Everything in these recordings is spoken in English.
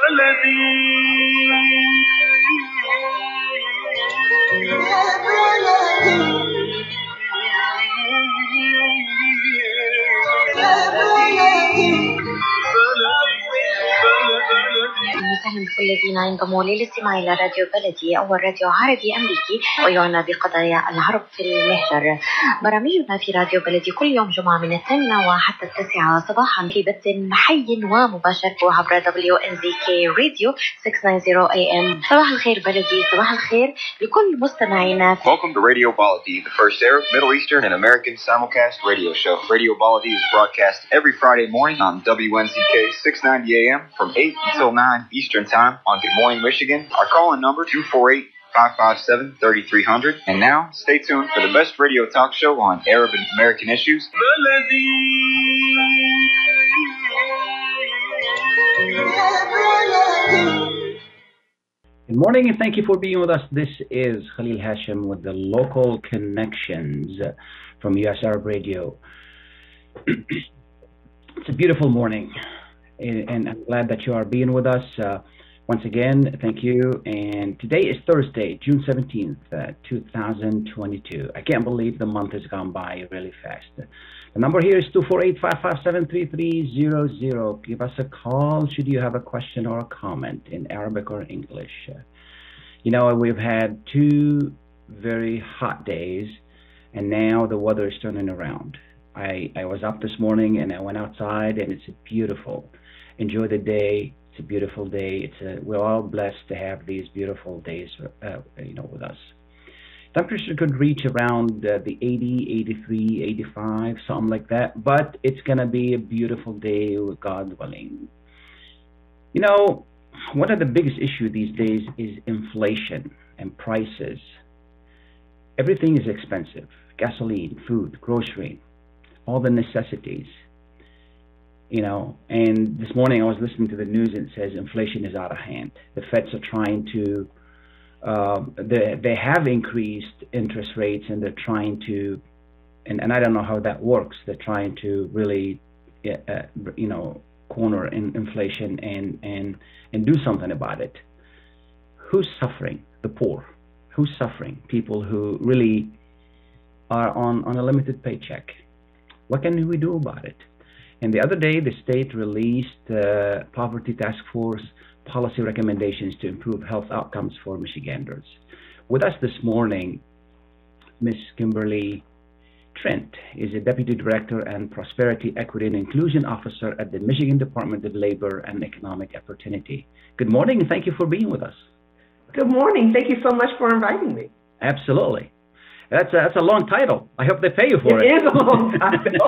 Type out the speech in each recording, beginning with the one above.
وسهلا بكل الذين ينضموا للاستماع إلى راديو بلدي، أول راديو عربي أمريكي ويعنى بقضايا العرب في المهجر. برامجنا في راديو بلدي كل يوم جمعة من 8 وحتى 9 صباحا في بث حي ومباشر عبر WNZK راديو 690 AM. صباح الخير بلدي، صباح الخير لكل مستمعينا. Welcome to Radio Baladi, the first Arab, Middle Eastern, and American simulcast radio show. Radio Baladi is broadcast every Friday morning on WNZK 690 AM from 8 until 9 Eastern Time on Good Morning, Michigan. Our call-in number 248-557-3300. And now, stay tuned for the best radio talk show on Arab and American issues. Good morning and thank you for being with us. This is Khalil Hashim with the Local Connections from US Arab Radio. It's a beautiful morning and I'm glad that you are being with us. Once again, thank you. And today is Thursday, June 17th, 2022. I can't believe the month has gone by really fast. The number here is 248-557-3300. Give us a call should you have a question or a comment in Arabic or English. You know, we've had 2 very hot days, and now the weather is turning around. I was up this morning and I went outside, and it's beautiful. Enjoy the day. It's a beautiful day. We're all blessed to have these beautiful days, with us. Temperature could reach around the 80, 83, 85, something like that. But it's going to be a beautiful day with God willing. You know, one of the biggest issues these days is inflation and prices. Everything is expensive. Gasoline, food, grocery, all the necessities. You know, and this morning I was listening to the news and it says inflation is out of hand. The Feds are trying to they have increased interest rates, and they're trying to, and I don't know how that works. They're trying to really, corner inflation and do something about it. Who's suffering? The poor. Who's suffering? People who really are on a limited paycheck. What can we do about it? And the other day, the state released Poverty Task Force policy recommendations to improve health outcomes for Michiganders. With us this morning, Ms. Kimberly Trent is a Deputy Director and Prosperity, Equity, and Inclusion Officer at the Michigan Department of Labor and Economic Opportunity. Good morning, and thank you for being with us. Good morning. Thank you so much for inviting me. Absolutely. That's a long title. I hope they pay you for it. It is a long title.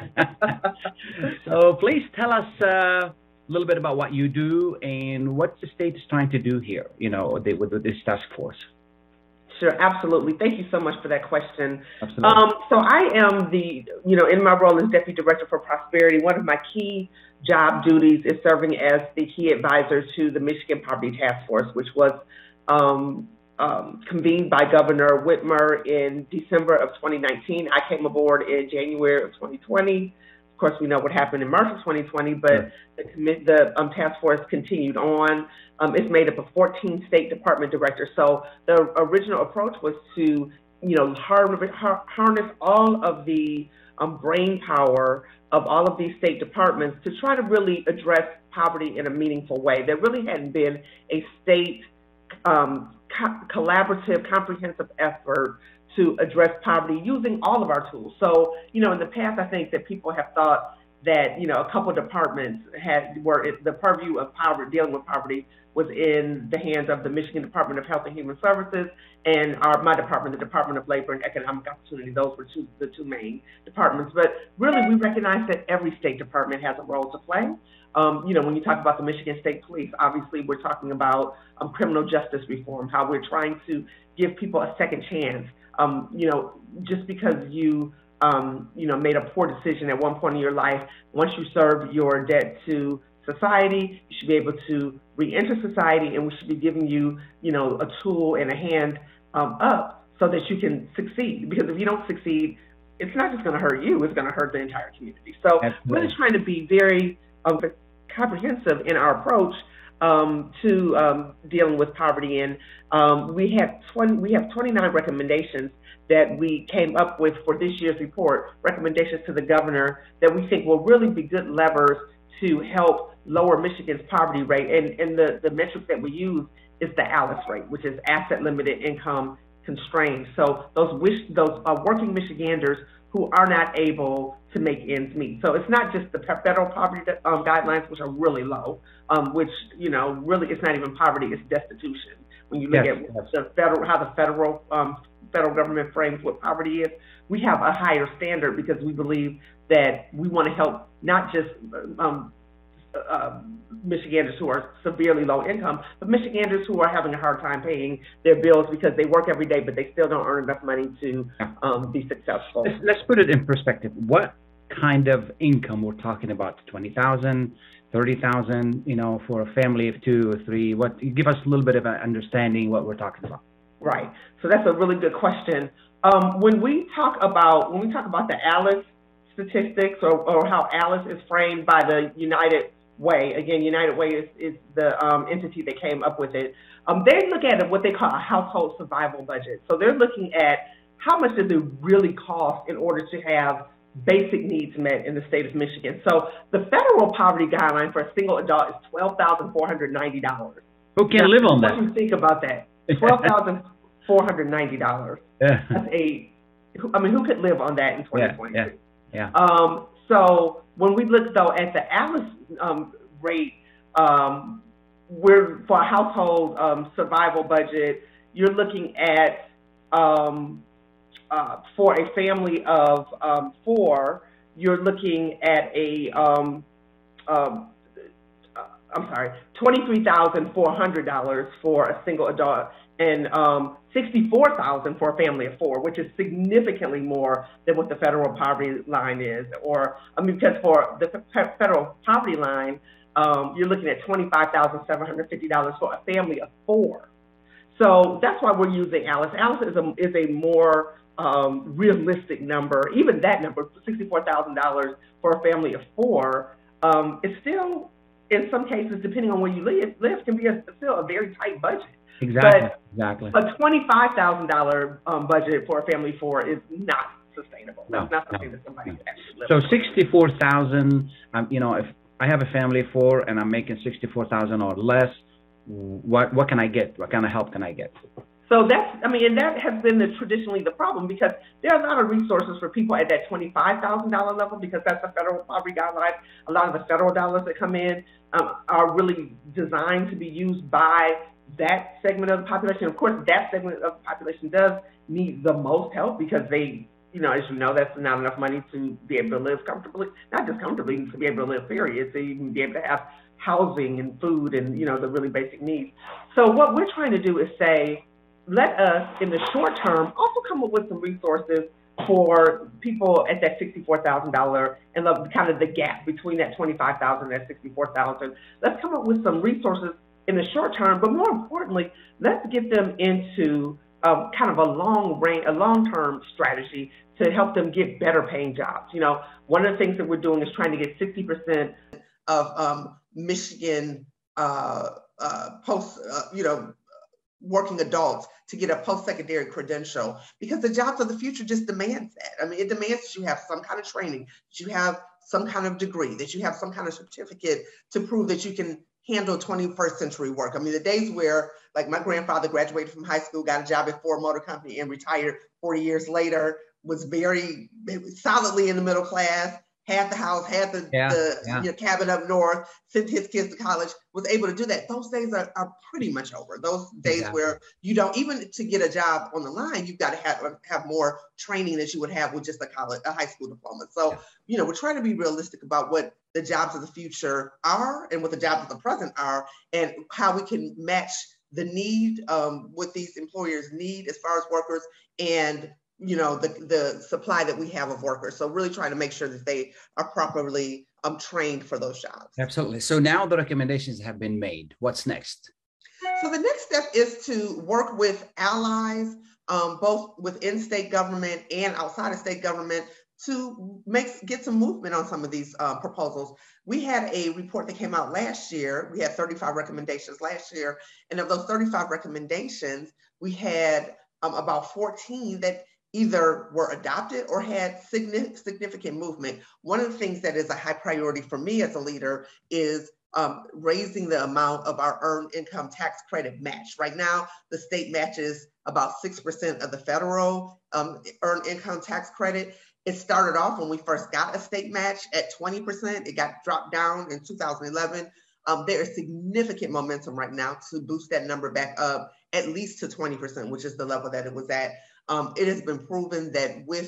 So please tell us a little bit about what you do and what the state is trying to do here, with this task force. Sure, absolutely. Thank you so much for that question. Absolutely. So I am in my role as Deputy Director for Prosperity, one of my key job duties is serving as the key advisor to the Michigan Poverty Task Force, which was convened by Governor Whitmer in December of 2019. I came aboard in January of 2020. Of course, we know what happened in March of 2020, but the task force continued on. It's made up of 14 state department directors. So the original approach was to, harness all of the brain power of all of these state departments to try to really address poverty in a meaningful way. There really hadn't been a state collaborative, comprehensive effort to address poverty using all of our tools. So, in the past, I think that people have thought that, a couple of departments the purview of poverty, dealing with poverty was in the hands of the Michigan Department of Health and Human Services and my department, the Department of Labor and Economic Opportunity. Those were the two main departments. But really, we recognize that every state department has a role to play. When you talk about the Michigan State Police, obviously we're talking about criminal justice reform, how we're trying to give people a second chance. Just because you made a poor decision at one point in your life, once you serve your debt to society, you should be able to re-enter society, and we should be giving you, a tool and a hand up so that you can succeed. Because if you don't succeed, it's not just going to hurt you, it's going to hurt the entire community. So really trying to be very comprehensive in our approach to dealing with poverty. And we have 29 recommendations that we came up with for this year's report, recommendations to the governor that we think will really be good levers to help lower Michigan's poverty rate. And the metric that we use is the ALICE rate, which is asset limited income constrained. So those working Michiganders who are not able to make ends meet. So it's not just the federal poverty guidelines, which are really low, which, you know, really it's not even poverty, it's destitution. When you look at how the federal government frames what poverty is, we have a higher standard because we believe that we want to help not just Michiganders who are severely low income, but Michiganders who are having a hard time paying their bills because they work every day, but they still don't earn enough money to be successful. Let's put it in perspective. What kind of income we're talking about? 20,000, 30,000, you know, for a family of 2 or 3? What, give us a little bit of an understanding what we're talking about. Right. So that's a really good question. When we talk about the ALICE statistics or how ALICE is framed by the United Way, again, United Way is the entity that came up with it. They look at what they call a household survival budget. So they're looking at how much does it really cost in order to have basic needs met in the state of Michigan. So the federal poverty guideline for a single adult is $12,490. Who can live on that? What do you think about that? $12,490. Yeah. Who could live on that in 2022? Yeah. So when we look though at the ALICE rate, we're for a household survival budget, you're looking at for a family of 4, you're looking at $23,400 for a single adult and $64,000 for a family of 4, which is significantly more than what the federal poverty line is. Because for the federal poverty line, you're looking at $25,750 for a family of 4. So that's why we're using ALICE. ALICE is a more realistic number. Even that number, $64,000 for a family of 4, is still, in some cases, depending on where you live can be still a very tight budget. Exactly. A $25,000 budget for a family of 4 is not sustainable. That's not something that somebody can actually live So on. 64,000. You know, if I have a family of 4 and I'm making 64,000 or less, what can I get? What kind of help can I get? So and that has been traditionally the problem, because there are a lot of resources for people at that $25,000 level, because that's the federal poverty guideline. A lot of the federal dollars that come in are really designed to be used by that segment of the population. Of course, that segment of the population does need the most help because they, you know, as you know, that's not enough money to be able to live comfortably, not just comfortably, to be able to live, period, to even be able to have housing and food and, you know, the really basic needs. So what we're trying to do is say, let us, in the short term, also come up with some resources for people at that $64,000 and kind of the gap between that $25,000 and that $64,000. Let's come up with some resources in the short term, but more importantly, let's get them into kind of a long-term strategy to help them get better paying jobs. You know, one of the things that we're doing is trying to get 60% of Michigan working adults to get a post-secondary credential, because the jobs of the future just demands that. I mean, it demands that you have some kind of training, that you have some kind of degree, that you have some kind of certificate to prove that you can handle 21st century work. I mean, the days where, like, my grandfather graduated from high school, got a job at Ford Motor Company and retired 40 years later, was very solidly in the middle class, had the house, had the cabin up north, sent his kids to college, was able to do that. Those days are pretty much over. Those days where you don't, even to get a job on the line, you've got to have more training that you would have with just a high school diploma. So, you know, we're trying to be realistic about what the jobs of the future are and what the jobs of the present are, and how we can match the need, what these employers need as far as workers, and you know, the supply that we have of workers. So really trying to make sure that they are properly trained for those jobs. Absolutely. So now the recommendations have been made. What's next? So the next step is to work with allies, both within state government and outside of state government, to get some movement on some of these proposals. We had a report that came out last year. We had 35 recommendations last year. And of those 35 recommendations, we had about 14 that either were adopted or had significant movement. One of the things that is a high priority for me as a leader is raising the amount of our earned income tax credit match. Right now, the state matches about 6% of the federal earned income tax credit. It started off when we first got a state match at 20%. It got dropped down in 2011. There is significant momentum right now to boost that number back up at least to 20%, which is the level that it was at. It has been proven that with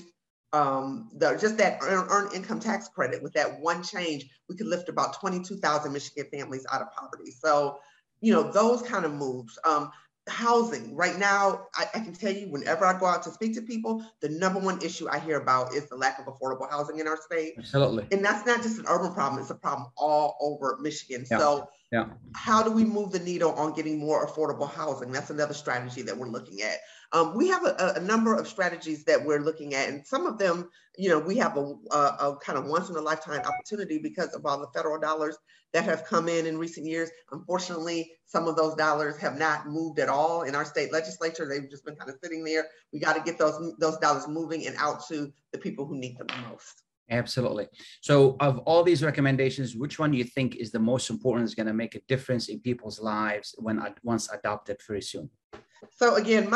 just that earned income tax credit, with that one change, we could lift about 22,000 Michigan families out of poverty. So, those kind of moves. Housing, right now, I can tell you, whenever I go out to speak to people, the number one issue I hear about is the lack of affordable housing in our state. Absolutely. And that's not just an urban problem, it's a problem all over Michigan. Yeah. So how do we move the needle on getting more affordable housing? That's another strategy that we're looking at. We have a number of strategies that we're looking at, and some of them, we have a kind of once in a lifetime opportunity because of all the federal dollars that have come in recent years. Unfortunately, some of those dollars have not moved at all in our state legislature. They've just been kind of sitting there. We got to get those dollars moving and out to the people who need them the most. Absolutely. So of all these recommendations, which one do you think is the most important, is going to make a difference in people's lives once adopted very soon? So again,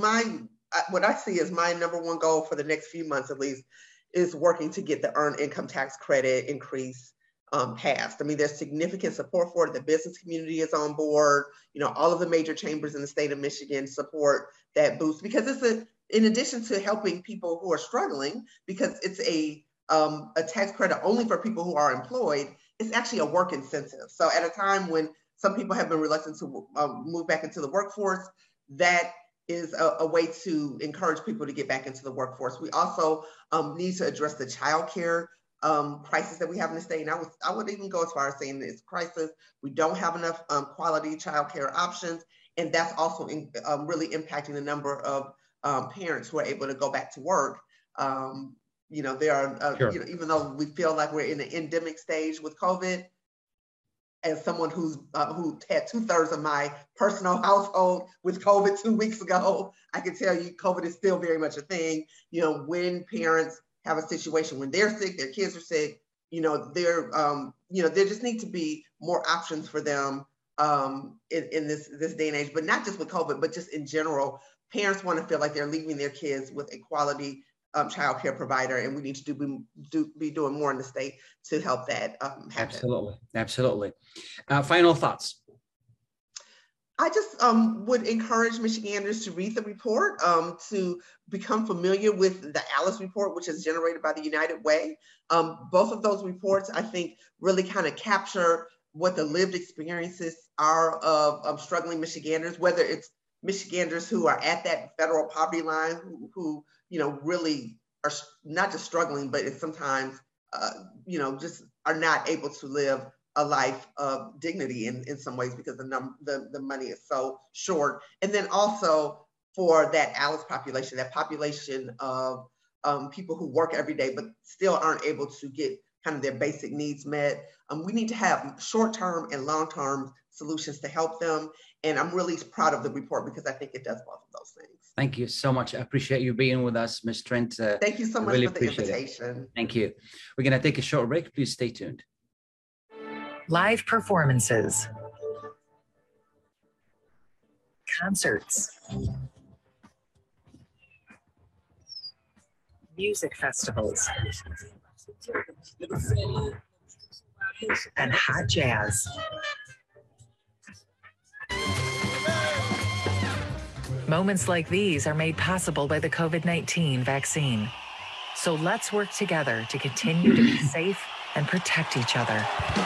what I see as my number one goal for the next few months at least is working to get the earned income tax credit increase passed. I mean, there's significant support for it. The business community is on board. All of the major chambers in the state of Michigan support that boost because it's in addition to helping people who are struggling, because it's a tax credit only for people who are employed, it's actually a work incentive. So at a time when some people have been reluctant to move back into the workforce, that is a way to encourage people to get back into the workforce. We also need to address the child care crisis that we have in the state. And I would even go as far as saying it's a crisis. We don't have enough quality child care options. And that's also really impacting the number of parents who are able to go back to work. There are, sure. Even though we feel like we're in the endemic stage with COVID, as someone who had 2/3 of my personal household with COVID 2 weeks ago, I can tell you COVID is still very much a thing. When parents have a situation when they're sick, their kids are sick, there just need to be more options for them in this day and age, but not just with COVID, but just in general. Parents want to feel like they're leaving their kids with a quality child care provider, and we need to be doing more in the state to help that happen. Absolutely. Final thoughts. I just would encourage Michiganders to read the report, to become familiar with the ALICE report, which is generated by the United Way. Both of those reports, I think, really kind of capture what the lived experiences are of struggling Michiganders, whether it's Michiganders who are at that federal poverty line, who really are not just struggling, but it's sometimes, just are not able to live a life of dignity in some ways because the money is so short. And then also for that ALICE population, that population of people who work every day, but still aren't able to get kind of their basic needs met. We need to have short-term and long-term solutions to help them. And I'm really proud of the report because I think it does both of those things. Thank you so much. I appreciate you being with us, Ms. Trent. Thank you so much really for the invitation. Thank you. We're going to take a short break. Please stay tuned. Live performances, concerts, music festivals, and hot jazz. Moments like these are made possible by the COVID-19 vaccine. So let's work together to continue to be safe and protect each other.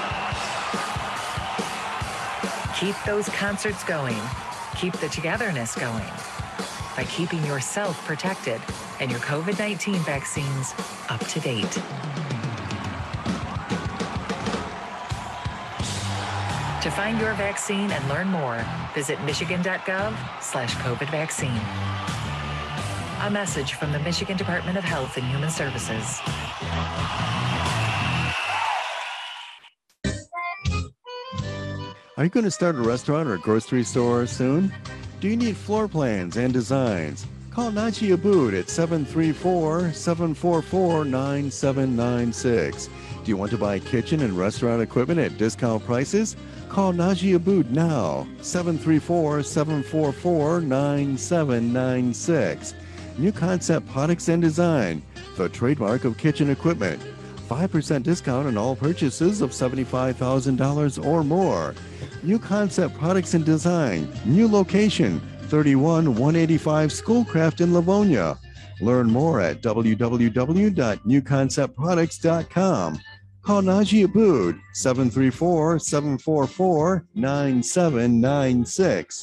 Keep those concerts going. Keep the togetherness going by keeping yourself protected and your COVID-19 vaccines up to date. To find your vaccine and learn more, visit michigan.gov/COVID vaccine. A message from the Michigan Department of Health and Human Services. Are you going to start a restaurant or grocery store soon? Do you need floor plans and designs? Call Najee Abood at 734-744-9796. Do you want to buy kitchen and restaurant equipment at discount prices? Call Najee Abood now, 734-744-9796. New Concept Products and Design, the trademark of kitchen equipment. 5% discount on all purchases of $75,000 or more. New Concept Products and Design, new location, 31185 Schoolcraft in Livonia. Learn more at www.newconceptproducts.com. Call Najee Abood, 734-744-9796.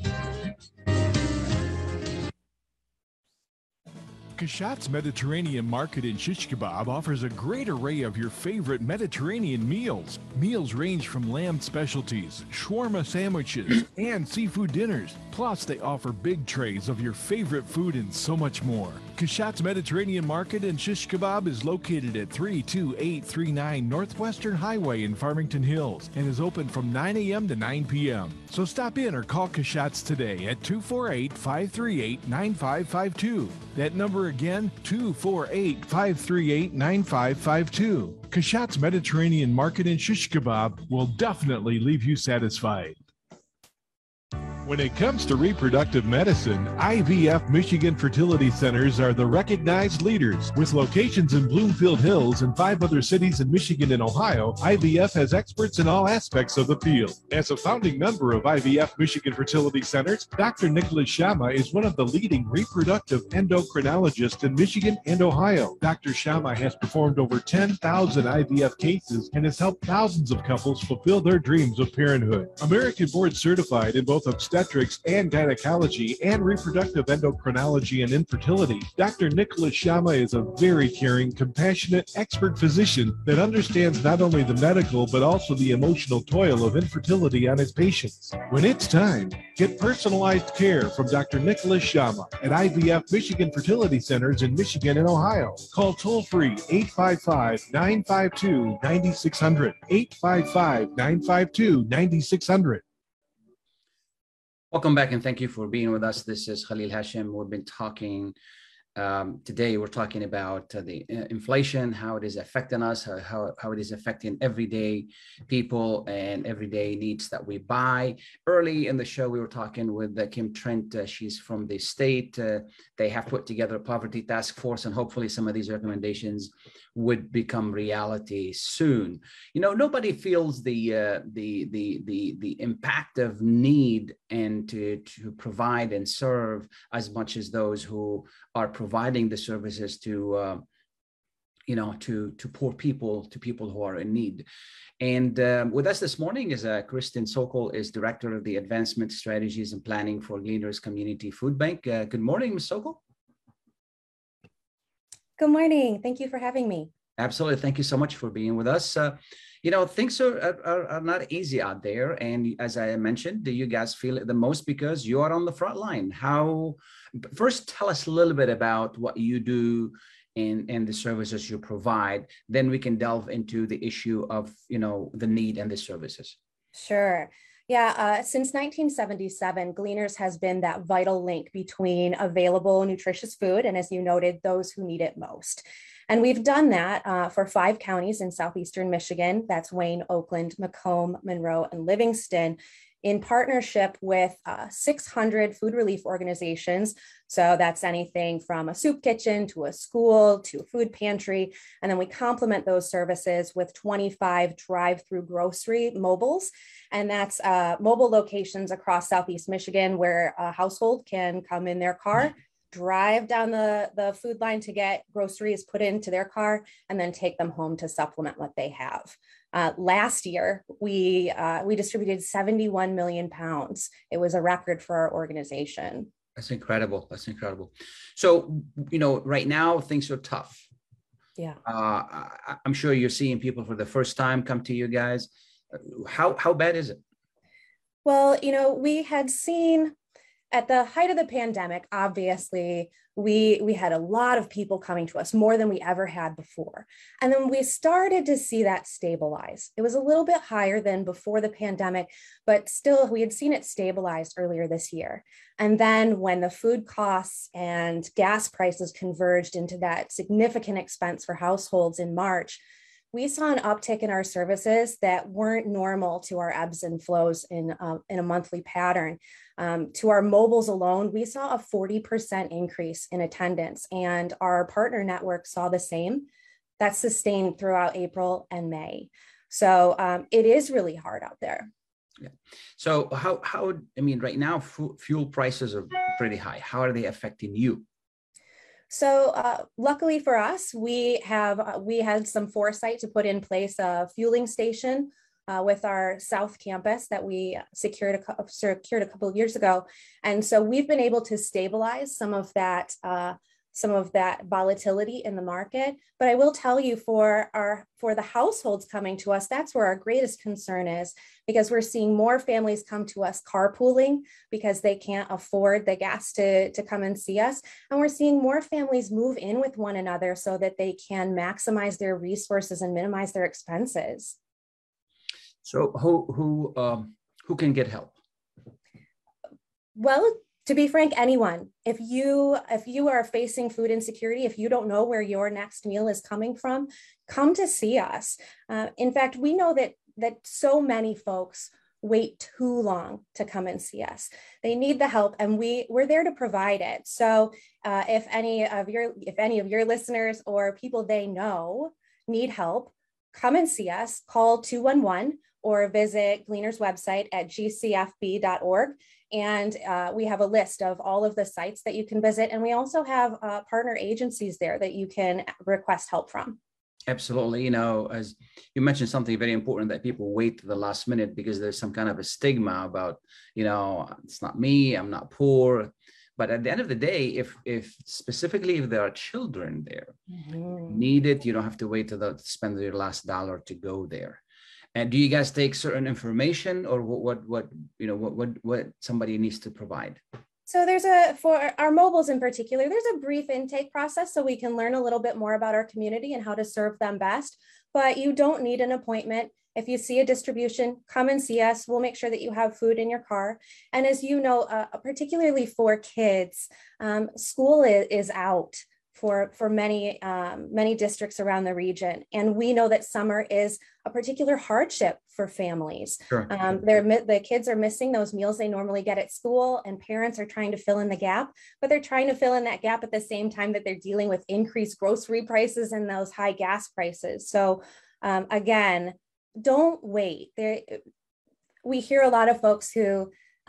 Kashat's Mediterranean Market in Shish Kebab offers a great array of your favorite Mediterranean meals. Meals range from lamb specialties, shawarma sandwiches, and seafood dinners. Plus, they offer big trays of your favorite food and so much more. Kashat's Mediterranean Market in Shish Kebab is located at 32839 Northwestern Highway in Farmington Hills and is open from 9 a.m. to 9 p.m. So stop in or call Kashat's today at 248-538-9552. That number again, 248-538-9552. Kashat's Mediterranean Market in Shish Kebab will definitely leave you satisfied. When it comes to reproductive medicine, IVF Michigan Fertility Centers are the recognized leaders. With locations in Bloomfield Hills and 5 other cities in Michigan and Ohio, IVF has experts in all aspects of the field. As a founding member of IVF Michigan Fertility Centers, Dr. Nicholas Shama is one of the leading reproductive endocrinologists in Michigan and Ohio. Dr. Shama has performed over 10,000 IVF cases and has helped thousands of couples fulfill their dreams of parenthood. American board certified in both obstetrics and gynecology and reproductive endocrinology and infertility, Dr. Nicholas Shama is a very caring, compassionate, expert physician that understands not only the medical but also the emotional toil of infertility on his patients. When it's time, get personalized care from Dr. Nicholas Shama at IVF Michigan Fertility Centers in Michigan and Ohio. Call toll-free 855-952-9600, 855-952-9600. Welcome back and thank you for being with us. This is Khalil Hashim. We've been talking today. We're talking about the inflation, how it is affecting us, how it is affecting everyday people and everyday needs that we buy. Early in the show, we were talking with Kim Trent. She's from the state. They have put together a poverty task force, and hopefully some of these recommendations would become reality soon. You know, nobody feels the impact of need and to provide and serve as much as those who are providing the services to poor people, to people who are in need. And with us this morning is Kristen Sokol, is Director of the Advancement Strategies and Planning for Gleaners Community Food Bank. Good morning, Ms. Sokol. Good morning. Thank you for having me. Absolutely. Thank you so much for being with us. Things are not easy out there. And as I mentioned, do you guys feel it the most because you are on the front line? First, tell us a little bit about what you do and the services you provide. Then we can delve into the issue of, the need and the services. Sure. Yeah, since 1977, Gleaners has been that vital link between available nutritious food and, as you noted, those who need it most. And we've done that for 5 counties in southeastern Michigan. That's Wayne, Oakland, Macomb, Monroe, and Livingston, in partnership with 600 food relief organizations. So that's anything from a soup kitchen to a school to a food pantry. And then we complement those services with 25 drive-through grocery mobiles. And that's mobile locations across Southeast Michigan where a household can come in their car, drive down the food line to get groceries put into their car, and then take them home to supplement what they have. Last year, we distributed 71 million pounds. It was a record for our organization. That's incredible. That's incredible. So, right now things are tough. Yeah. I'm sure you're seeing people for the first time come to you guys. How bad is it? Well, we had seen at the height of the pandemic, obviously, we had a lot of people coming to us, more than we ever had before. And then we started to see that stabilize. It was a little bit higher than before the pandemic, but still we had seen it stabilize earlier this year. And then when the food costs and gas prices converged into that significant expense for households in March, we saw an uptick in our services that weren't normal to our ebbs and flows in a monthly pattern. To our mobiles alone, we saw a 40% increase in attendance, and our partner network saw the same. That's sustained throughout April and May. So it is really hard out there. Yeah. So how I mean, right now, fuel prices are pretty high. How are they affecting you? So luckily for us, we had some foresight to put in place a fueling station with our South Campus that we secured a couple of years ago. And so we've been able to stabilize some of that volatility in the market. But I will tell you, for the households coming to us, that's where our greatest concern is, because we're seeing more families come to us carpooling because they can't afford the gas to come and see us. And we're seeing more families move in with one another so that they can maximize their resources and minimize their expenses. So who can get help? Well, to be frank, anyone. If you are facing food insecurity, if you don't know where your next meal is coming from, come to see us. In fact, we know that so many folks wait too long to come and see us. They need the help, and we're there to provide it. So if any of your listeners or people they know need help, come and see us. Call 211 or visit Gleaner's website at gcfb.org. And we have a list of all of the sites that you can visit. And we also have partner agencies there that you can request help from. Absolutely. You know, as you mentioned something very important, that people wait to the last minute because there's some kind of a stigma about, you know, it's not me, I'm not poor. But at the end of the day, if specifically if there are children there, need it, you don't have to wait to spend your last dollar to go there. And do you guys take certain information, or what somebody needs to provide? So for our mobiles in particular, there's a brief intake process so we can learn a little bit more about our community and how to serve them best. But you don't need an appointment. If you see a distribution, come and see us. We'll make sure that you have food in your car. And as you know, particularly for kids, school is out for many districts around the region. And we know that summer is a particular hardship for families. Sure. The kids are missing those meals they normally get at school, and parents are trying to fill in the gap, but they're trying to fill in that gap at the same time that they're dealing with increased grocery prices and those high gas prices. So again, don't wait. We hear a lot of folks who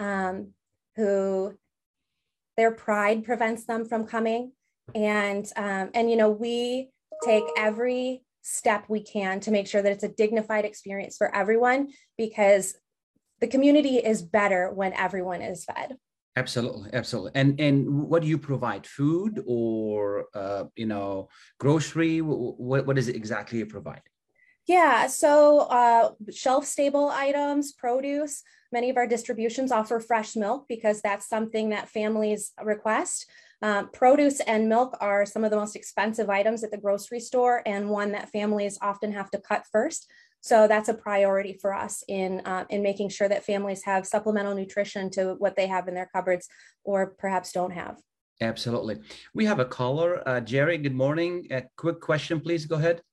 their pride prevents them from coming. And we take every step we can to make sure that it's a dignified experience for everyone, because the community is better when everyone is fed. Absolutely. And what do you provide? Food or grocery? What is it exactly you provide? Yeah, so shelf-stable items, produce. Many of our distributions offer fresh milk because that's something that families request. Produce and milk are some of the most expensive items at the grocery store, and one that families often have to cut first. So that's a priority for us in making sure that families have supplemental nutrition to what they have in their cupboards or perhaps don't have. Absolutely. We have a caller. Jerry, good morning. A quick question, please. Go ahead.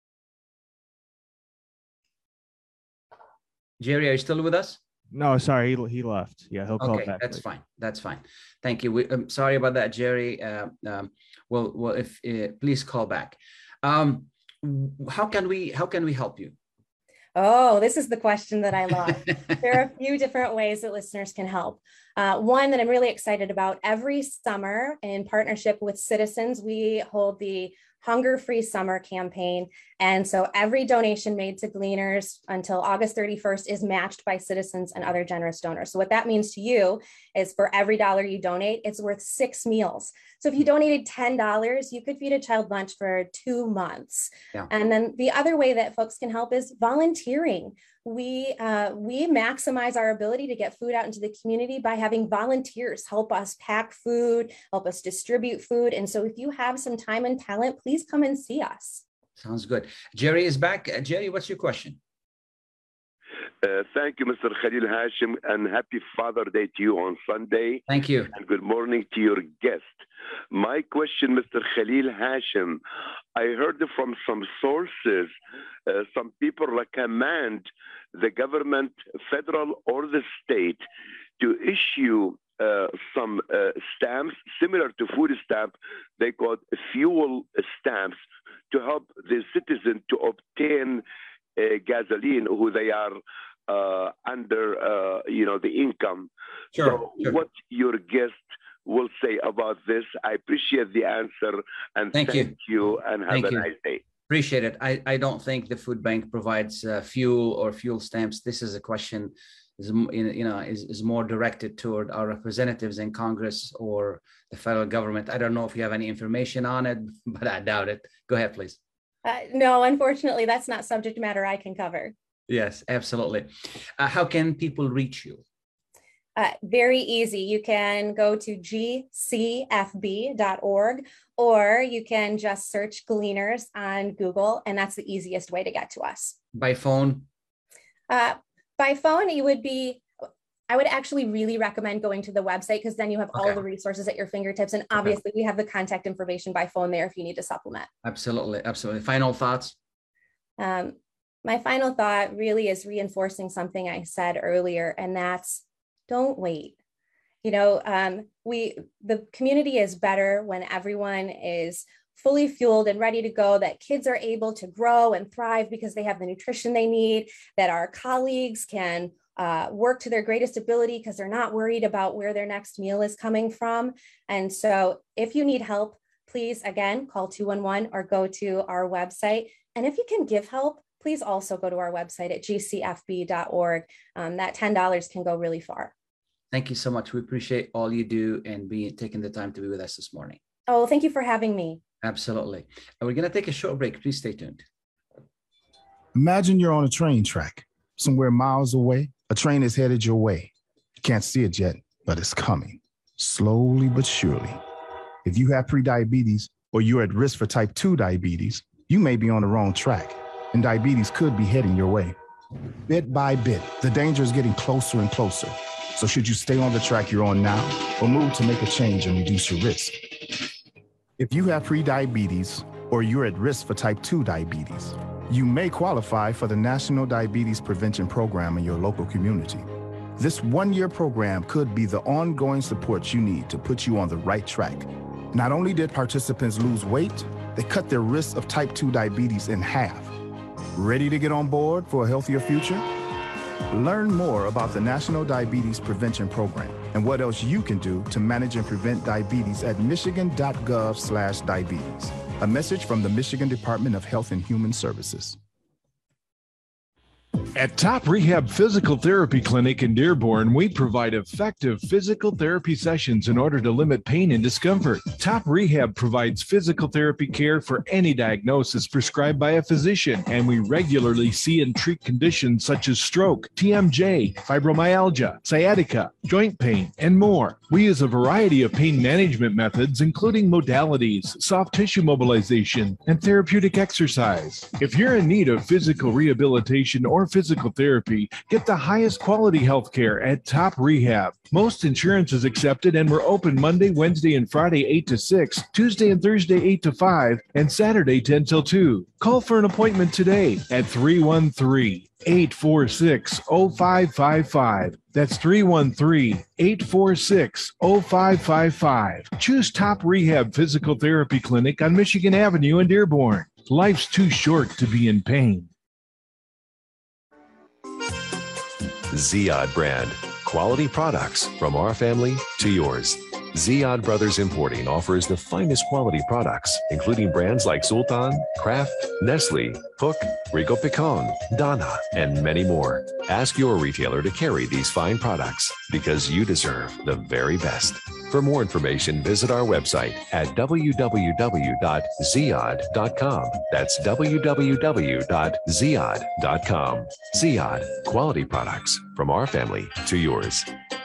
Jerry, are you still with us? No, sorry, he left. Yeah, he'll call back. That's fine. That's fine. Thank you. I'm sorry about that, Jerry. Well, if please call back. How can we help you? Oh, this is the question that I love. There are a few different ways that listeners can help. One that I'm really excited about: every summer, in partnership with Citizens, we hold the Hunger-Free Summer campaign. And so every donation made to Gleaners until August 31st is matched by Citizens and other generous donors. So what that means to you is for every dollar you donate, it's worth 6 meals. So if you donated $10, you could feed a child lunch for 2 months. Yeah. And then the other way that folks can help is volunteering. we maximize our ability to get food out into the community by having volunteers help us pack food, help us distribute food. And so if you have some time and talent, please come and see us. Sounds good. Jerry is back. Jerry, what's your question? Thank you, Mr. Khalil Hashim, and happy Father's Day to you on Sunday. Thank you. And good morning to your guest. My question, Mr. Khalil Hashim, I heard from some sources, some people recommend the government, federal or the state, to issue some stamps similar to food stamp. They call fuel stamps to help the citizen to obtain gasoline who they are under, the income. Sure. What your guest will say about this? I appreciate the answer, and thank you and have a nice day. Appreciate it. I don't think the food bank provides fuel or fuel stamps. This is a question is more directed toward our representatives in Congress or the federal government. I don't know if you have any information on it, but I doubt it. Go ahead, please. No, unfortunately, that's not subject matter I can cover. Yes, absolutely. How can people reach you? Very easy. You can go to gcfb.org, or you can just search Gleaners on Google, and that's the easiest way to get to us. By phone? By phone, I would actually really recommend going to the website, because then you have all the resources at your fingertips. And obviously we have the contact information by phone there if you need to supplement. Absolutely. Absolutely. Final thoughts? My final thought really is reinforcing something I said earlier, and that's don't wait. The community is better when everyone is fully fueled and ready to go, that kids are able to grow and thrive because they have the nutrition they need, that our colleagues can work to their greatest ability because they're not worried about where their next meal is coming from. And so if you need help, please, again, call 211 or go to our website. And if you can give help, please also go to our website at gcfb.org. That $10 can go really far. Thank you so much. We appreciate all you do and taking the time to be with us this morning. Oh, thank you for having me. Absolutely. And we're going to take a short break. Please stay tuned. Imagine you're on a train track somewhere miles away. A train is headed your way. You can't see it yet, but it's coming, slowly but surely. If you have prediabetes or you're at risk for type 2 diabetes, you may be on the wrong track, and diabetes could be heading your way. Bit by bit, the danger is getting closer and closer. So should you stay on the track you're on now or move to make a change and reduce your risk? If you have prediabetes or you're at risk for type 2 diabetes, you may qualify for the National Diabetes Prevention Program in your local community. This one-year program could be the ongoing support you need to put you on the right track. Not only did participants lose weight, they cut their risk of type 2 diabetes in half. Ready to get on board for a healthier future? Learn more about the National Diabetes Prevention Program and what else you can do to manage and prevent diabetes at michigan.gov/diabetes. A message from the Michigan Department of Health and Human Services. At Top Rehab Physical Therapy Clinic in Dearborn, we provide effective physical therapy sessions in order to limit pain and discomfort. Top Rehab provides physical therapy care for any diagnosis prescribed by a physician, and we regularly see and treat conditions such as stroke, TMJ, fibromyalgia, sciatica, joint pain, and more. We use a variety of pain management methods, including modalities, soft tissue mobilization, and therapeutic exercise. If you're in need of physical rehabilitation or physical therapy, get the highest quality health care at Top Rehab. Most insurance is accepted, and we're open Monday, Wednesday, and Friday 8 to 6, Tuesday and Thursday 8 to 5, and Saturday 10 till 2. Call for an appointment today at 313-846-0555. That's 313-846-0555. Choose Top Rehab Physical Therapy Clinic on Michigan Avenue in Dearborn. Life's too short to be in pain. Ziyad brand. Quality products from our family to yours. Ziyad Brothers Importing offers the finest quality products, including brands like Sultan, Kraft, Nestle, Hook, Rico Picon, Donna, and many more. Ask your retailer to carry these fine products because you deserve the very best. For more information, visit our website at www.ziyad.com. That's www.ziyad.com. Ziyad, quality products from our family to yours.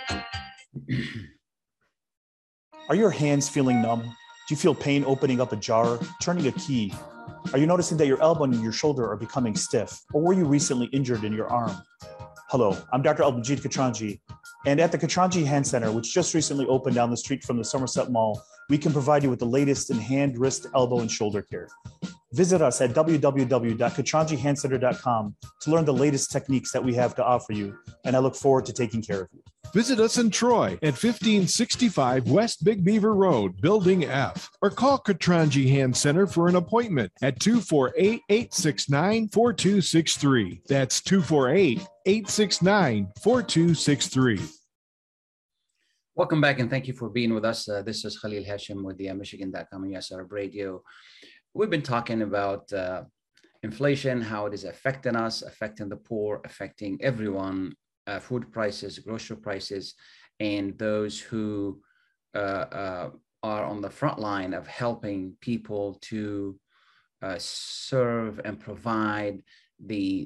Are your hands feeling numb? Do you feel pain opening up a jar, turning a key? Are you noticing that your elbow and your shoulder are becoming stiff? Or were you recently injured in your arm? Hello, I'm Dr. Al-Majid Katranji, and at the Katranji Hand Center, which just recently opened down the street from the Somerset Mall, we can provide you with the latest in hand, wrist, elbow, and shoulder care. Visit us at www.katranjihandcenter.com to learn the latest techniques that we have to offer you, and I look forward to taking care of you. Visit us in Troy at 1565 West Big Beaver Road, Building F, or call Katranji Hand Center for an appointment at 248-869-4263. That's 248-869-4263. Welcome back, and thank you for being with us. This is Khalil Hashim with the Michigan.com and US Arab Radio. We've been talking about inflation, how it is affecting us, affecting the poor, affecting everyone, food prices, grocery prices, and those who are on the front line of helping people to serve and provide the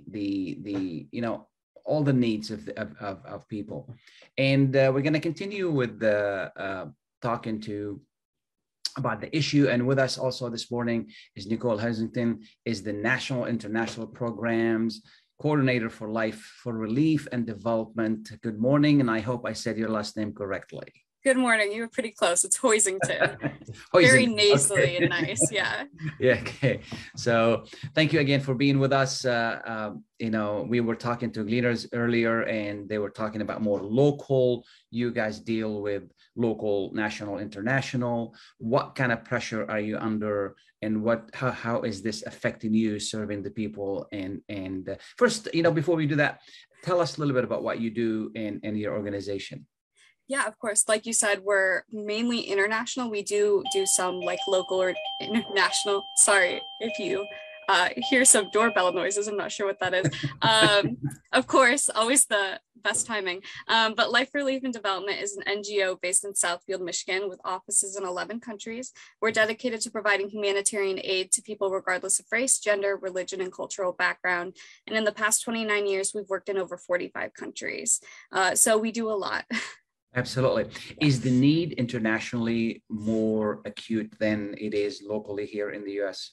all the needs of people. And we're going to continue with talking about the issue. And with us also this morning is Nicole Hesington, is the National International Programs Coordinator for Life for Relief and Development. Good morning, and I hope I said your last name correctly. Good morning. You were pretty close. It's Hoisington. Very nasally and nice. Yeah. Yeah. Okay. So thank you again for being with us. We were talking to Gleaners earlier, and they were talking about more local. You guys deal with local, national, international. What kind of pressure are you under, and how is this affecting you serving the people? And first, before we do that, tell us a little bit about what you do in your organization. Yeah, of course. Like you said, we're mainly international. We do some like local or international. Sorry if you hear some doorbell noises. I'm not sure what that is. Of course, always the best timing. But Life for Relief and Development is an NGO based in Southfield, Michigan, with offices in 11 countries. We're dedicated to providing humanitarian aid to people regardless of race, gender, religion, and cultural background. And in the past 29 years, we've worked in over 45 countries. So we do a lot. Absolutely. Is the need internationally more acute than it is locally here in the U.S.?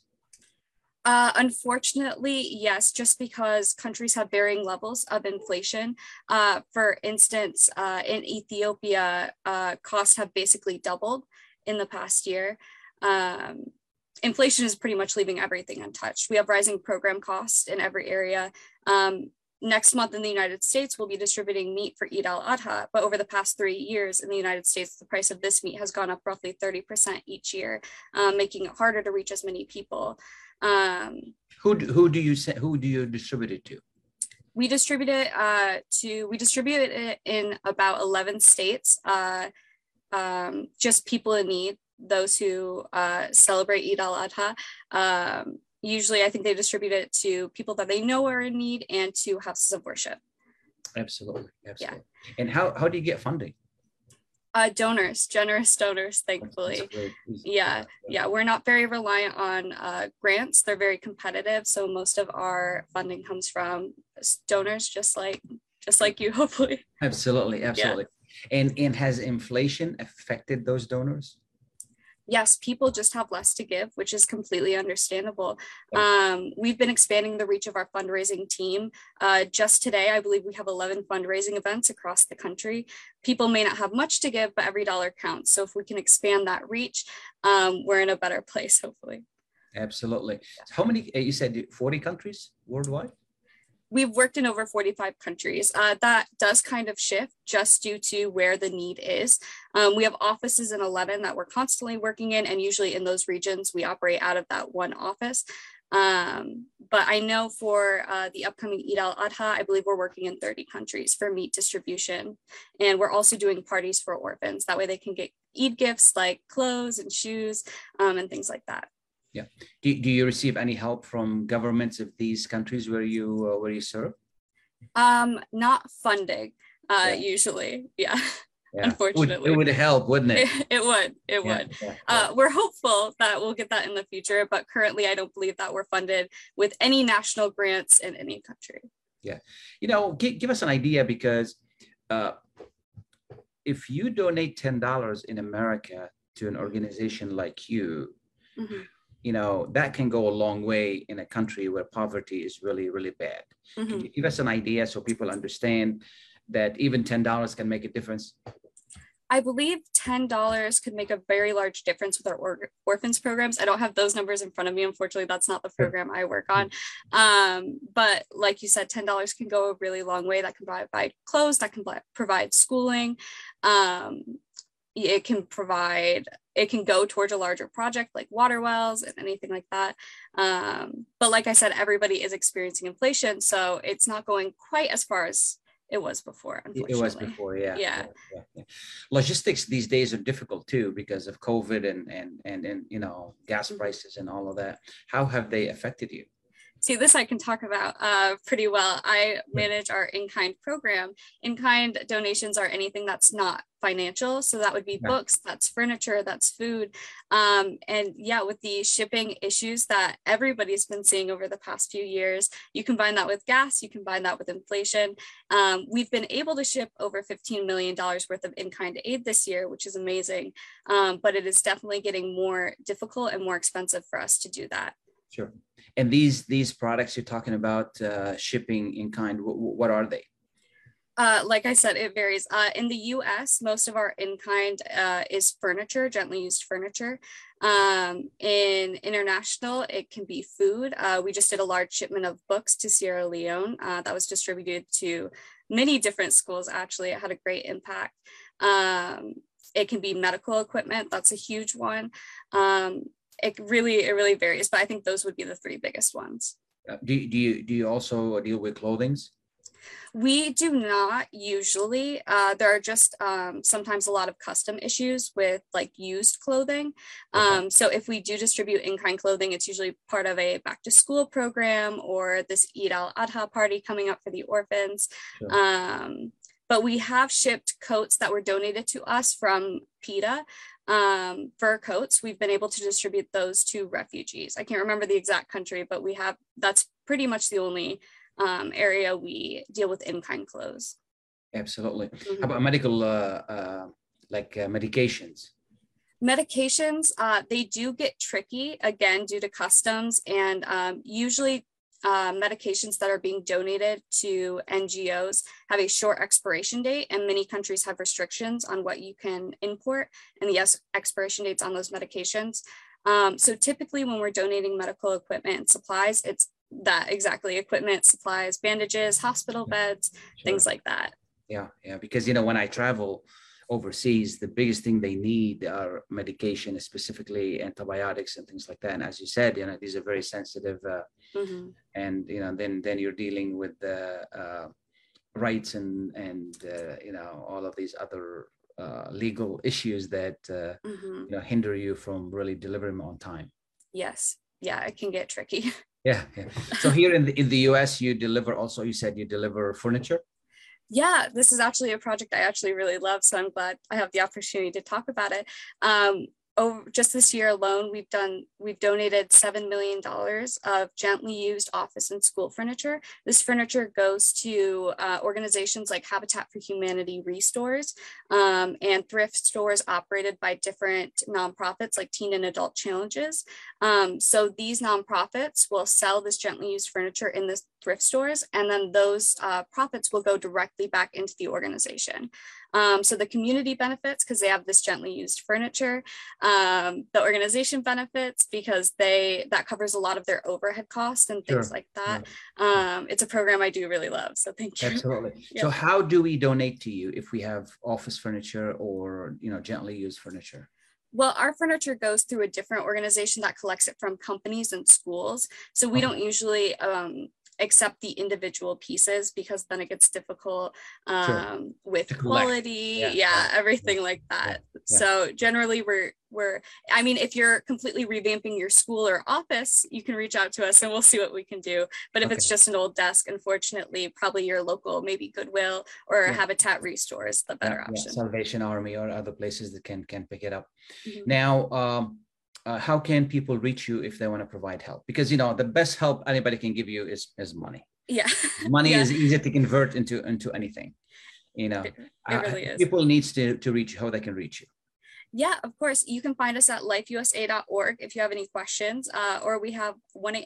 Unfortunately, yes, just because countries have varying levels of inflation. For instance, in Ethiopia, costs have basically doubled in the past year. Inflation is pretty much leaving everything untouched. We have rising program costs in every area. Next month in the United States, we'll be distributing meat for Eid al-Adha, but over the past 3 years in the United States, the price of this meat has gone up roughly 30% each year, making it harder to reach as many people. Who do you distribute it to? We distribute it in about 11 states, just people in need, those who celebrate Eid al-Adha. Usually, I think they distribute it to people that they know are in need and to houses of worship. Absolutely. Yeah. And how do you get funding? Donors, generous donors, thankfully. Yeah. We're not very reliant on grants. They're very competitive. So most of our funding comes from donors, just like you, hopefully. Absolutely. Yeah. And has inflation affected those donors? Yes, people just have less to give, which is completely understandable. We've been expanding the reach of our fundraising team. Just today, I believe we have 11 fundraising events across the country. People may not have much to give, but every dollar counts. So if we can expand that reach, we're in a better place, hopefully. Absolutely. How many, you said 40 countries worldwide? We've worked in over 45 countries. That does kind of shift just due to where the need is. We have offices in 11 that we're constantly working in, and usually in those regions, we operate out of that one office. But I know for the upcoming Eid al-Adha, I believe we're working in 30 countries for meat distribution. And we're also doing parties for orphans. That way they can get Eid gifts like clothes and shoes and things like that. Yeah. Do you receive any help from governments of these countries where you serve? Not funding, usually. Yeah. unfortunately. It would help, wouldn't it? It would. We're hopeful that we'll get that in the future, but currently I don't believe that we're funded with any national grants in any country. Yeah. Give us an idea, because if you donate $10 in America to an organization like you, that can go a long way in a country where poverty is really, really bad. Can you give us an idea so people understand that even $10 can make a difference? I believe $10 could make a very large difference with our orphans programs. I don't have those numbers in front of me. Unfortunately, that's not the program I work on. But like you said, $10 can go a really long way. That can provide clothes, that can provide schooling. It can go towards a larger project like water wells and anything like that. But like I said, everybody is experiencing inflation, so it's not going quite as far as it was before, unfortunately. It was before, yeah. Logistics these days are difficult too because of COVID and gas prices and all of that. How have they affected you? See, this I can talk about pretty well. I manage our in-kind program. In-kind donations are anything that's not financial. So that would be books, that's furniture, that's food. And yeah, with the shipping issues that everybody's been seeing over the past few years, you combine that with gas, you combine that with inflation. We've been able to ship over $15 million worth of in-kind aid this year, which is amazing. But it is definitely getting more difficult and more expensive for us to do that. Sure. And these products you're talking about, shipping in kind, what are they? Like I said, it varies. In the U.S., most of our in-kind is furniture, gently used furniture. In international, it can be food. We just did a large shipment of books to Sierra Leone that was distributed to many different schools. Actually, it had a great impact. It can be medical equipment. That's a huge one. It really varies, but I think those would be the three biggest ones. Do you also deal with clothings? We do not usually. There are just sometimes a lot of custom issues with like used clothing. So if we do distribute in-kind clothing, it's usually part of a back to school program or this Eid al-Adha party coming up for the orphans. Sure. But we have shipped coats that were donated to us from PETA. Fur coats. We've been able to distribute those to refugees. I can't remember the exact country, but that's pretty much the only area we deal with in-kind clothes. Absolutely. How about medical, medications? Medications, they do get tricky, again, due to customs, and usually medications that are being donated to NGOs have a short expiration date, and many countries have restrictions on what you can import and the expiration dates on those medications. So typically when we're donating medical equipment and supplies, it's that exactly: equipment, supplies, bandages, hospital beds, things like that. Yeah, because when I travel overseas, the biggest thing they need are medication, specifically antibiotics and things like that. And as you said, these are very sensitive, and then you're dealing with the rights and all of these other legal issues that hinder you from really delivering on time. Yes, it can get tricky. Yeah. So here in the U.S., you said you deliver furniture. Yeah, this is actually a project I actually really love, so I'm glad I have the opportunity to talk about it. Just this year alone, we've donated $7 million of gently used office and school furniture. This furniture goes to organizations like Habitat for Humanity Restores and thrift stores operated by different nonprofits like Teen and Adult Challenges. So these nonprofits will sell this gently used furniture in the thrift stores, and then those profits will go directly back into the organization. So the community benefits because they have this gently used furniture. The organization benefits because that covers a lot of their overhead costs and things like that. It's a program I do really love, so thank you. Absolutely. So how do we donate to you if we have office furniture or gently used furniture? Well, our furniture goes through a different organization that collects it from companies and schools. So we don't usually accept the individual pieces because then it gets difficult with quality, everything like that. So generally I mean, if you're completely revamping your school or office, you can reach out to us and we'll see what we can do. But if it's just an old desk, unfortunately, probably your local, maybe Goodwill or Habitat Restore is the better option. Salvation Army or other places that can pick it up. Now, how can people reach you if they want to provide help? Because, you know, the best help anybody can give you is money. Yeah. Money is easy to convert into anything. You know, it really is. People needs to reach how they can reach you. Yeah, of course. You can find us at lifeusa.org if you have any questions, or we have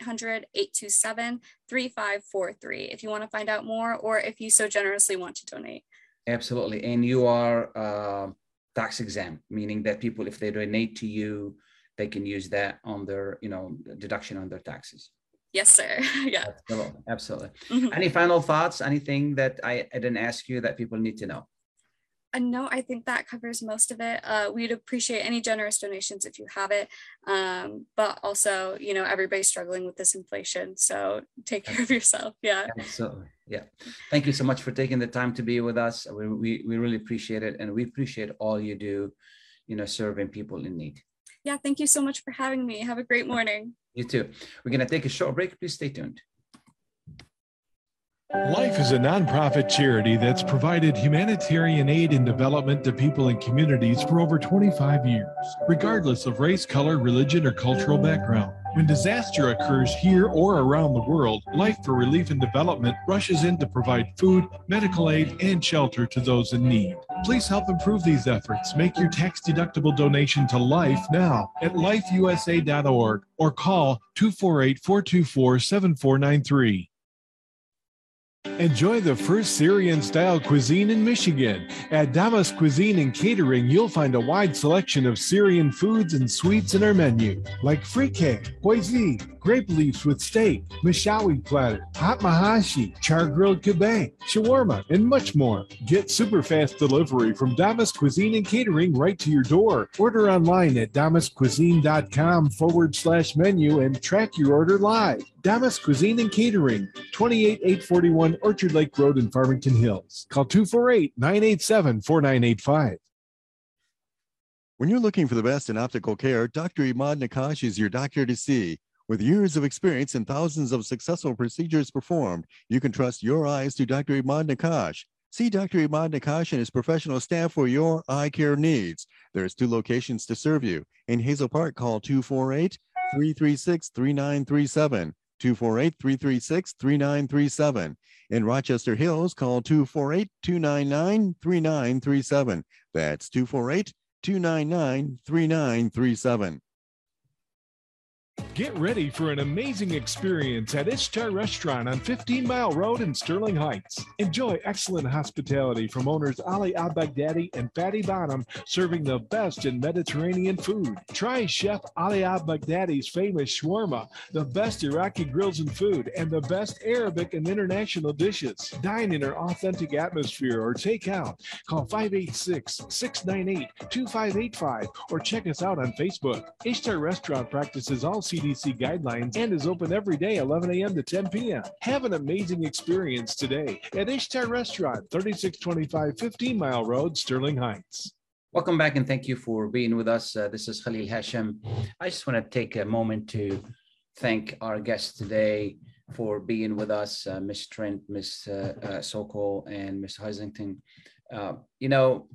1-800-827-3543 if you want to find out more, or if you so generously want to donate. Absolutely. And you are tax exempt, meaning that people, if they donate to you, they can use that on their, you know, deduction on their taxes. Yes, sir. Yeah. Absolutely. Any final thoughts? Anything that I didn't ask you that people need to know? No, I think that covers most of it. We'd appreciate any generous donations if you have it. But also, you know, everybody's struggling with this inflation. So take care of yourself. Yeah. Absolutely. Yeah. Thank you so much for taking the time to be with us. We really appreciate it. And we appreciate all you do, you know, serving people in need. Yeah. Thank you so much for having me. Have a great morning. You too. We're going to take a short break. Please stay tuned. Life is a nonprofit charity that's provided humanitarian aid and development to people and communities for over 25 years, regardless of race, color, religion, or cultural background. When disaster occurs here or around the world, Life for Relief and Development rushes in to provide food, medical aid, and shelter to those in need. Please help improve these efforts. Make your tax-deductible donation to Life now at lifeusa.org or call 248-424-7493. Enjoy the first Syrian-style cuisine in Michigan. At Damas Cuisine and Catering, you'll find a wide selection of Syrian foods and sweets in our menu, like frikeh, hoisin, grape leaves with steak, mishawi platter, hot mahashi, char-grilled kebab, shawarma, and much more. Get super fast delivery from Damas Cuisine and Catering right to your door. Order online at damascuisine.com/menu and track your order live. Damas Cuisine and Catering, 28841 Orchard Lake Road in Farmington Hills. Call 248-987-4985. When you're looking for the best in optical care, Dr. Imad Nakash is your doctor to see. With years of experience and thousands of successful procedures performed, you can trust your eyes to Dr. Imad Nakash. See Dr. Imad Nakash and his professional staff for your eye care needs. There's 2 locations to serve you. In Hazel Park, call 248-336-3937. 248-336-3937. In Rochester Hills, call 248-299-3937. That's 248-299-3937. Get ready for an amazing experience at Ishtar Restaurant on 15 Mile Road in Sterling Heights. Enjoy excellent hospitality from owners Ali Al-Baghdadi and Fatty Bottom, serving the best in Mediterranean food. Try Chef Ali Al-Baghdadi's famous shawarma, the best Iraqi grills and food, and the best Arabic and international dishes. Dine in our authentic atmosphere or take out. Call 586-698-2585 or check us out on Facebook. Ishtar Restaurant practices all CDC guidelines and is open every day 11 a.m. to 10 p.m. Have an amazing experience today at Ishtar Restaurant, 3625 15 Mile Road, Sterling Heights. Welcome back and thank you for being with us. This is Khalil Hashim. I just want to take a moment to thank our guests today for being with us, Ms. Trent, Ms. Sokol, and Ms. Heisington. You know,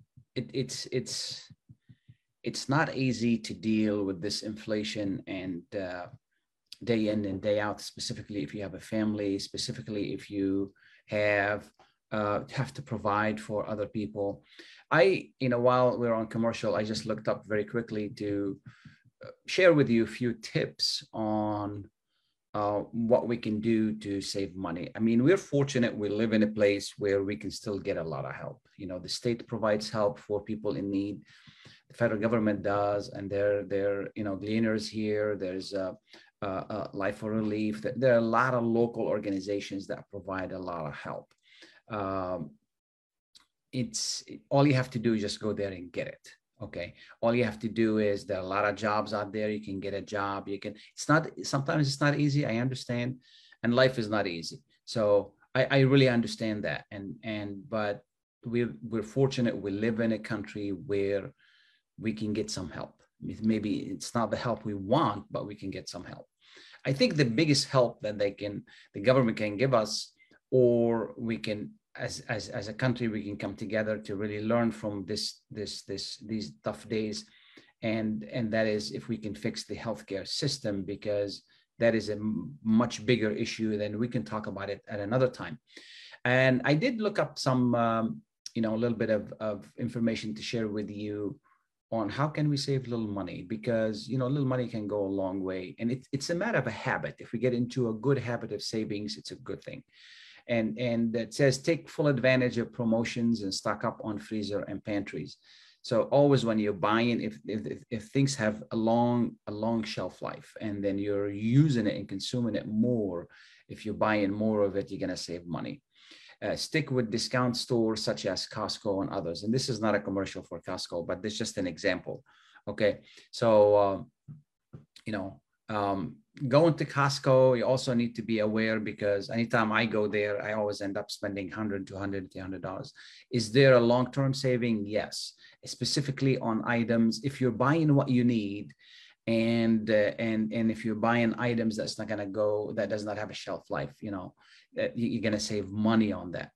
it's not easy to deal with this inflation and day in and day out, specifically if you have a family, specifically if you have to provide for other people. While we're on commercial, I just looked up very quickly to share with you a few tips on what we can do to save money. I mean, we're fortunate we live in a place where we can still get a lot of help. You know, the state provides help for people in need. The federal government does, and they're Gleaners here. There's Life for Relief. There are a lot of local organizations that provide a lot of help. It's all you have to do is just go there and get it. Okay. All you have to do is there are a lot of jobs out there. You can get a job. Sometimes it's not easy. I understand. And life is not easy. So I really understand that. But we're fortunate. We live in a country where we can get some help. Maybe it's not the help we want, but we can get some help. I think the biggest help that the government can give us, or we can, as a country, we can come together to really learn from these tough days, and that is if we can fix the healthcare system, because that is a much bigger issue. Then we can talk about it at another time. And I did look up some, a little bit of information to share with you on how can we save little money, because, little money can go a long way. And it's a matter of a habit. If we get into a good habit of savings, it's a good thing. And it says, take full advantage of promotions and stock up on freezer and pantries. So always when you're buying, if things have a long shelf life, and then you're using it and consuming it more, if you're buying more of it, you're going to save money. Stick with discount stores such as Costco and others. And this is not a commercial for Costco, but this is just an example. Okay. So, going to Costco, you also need to be aware, because anytime I go there, I always end up spending $100, $200, $300. Is there a long-term saving? Yes. Specifically on items, if you're buying what you need, and if you're buying items that does not have a shelf life, you're going to save money on that.